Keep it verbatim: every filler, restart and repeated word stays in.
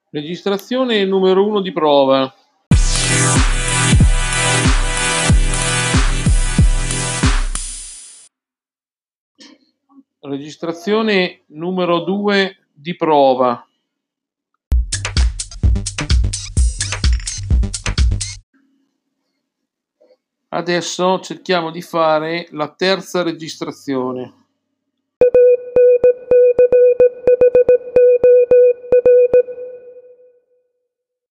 Registrazione numero uno di prova. Registrazione numero due di prova. Adesso cerchiamo di fare la terza registrazione.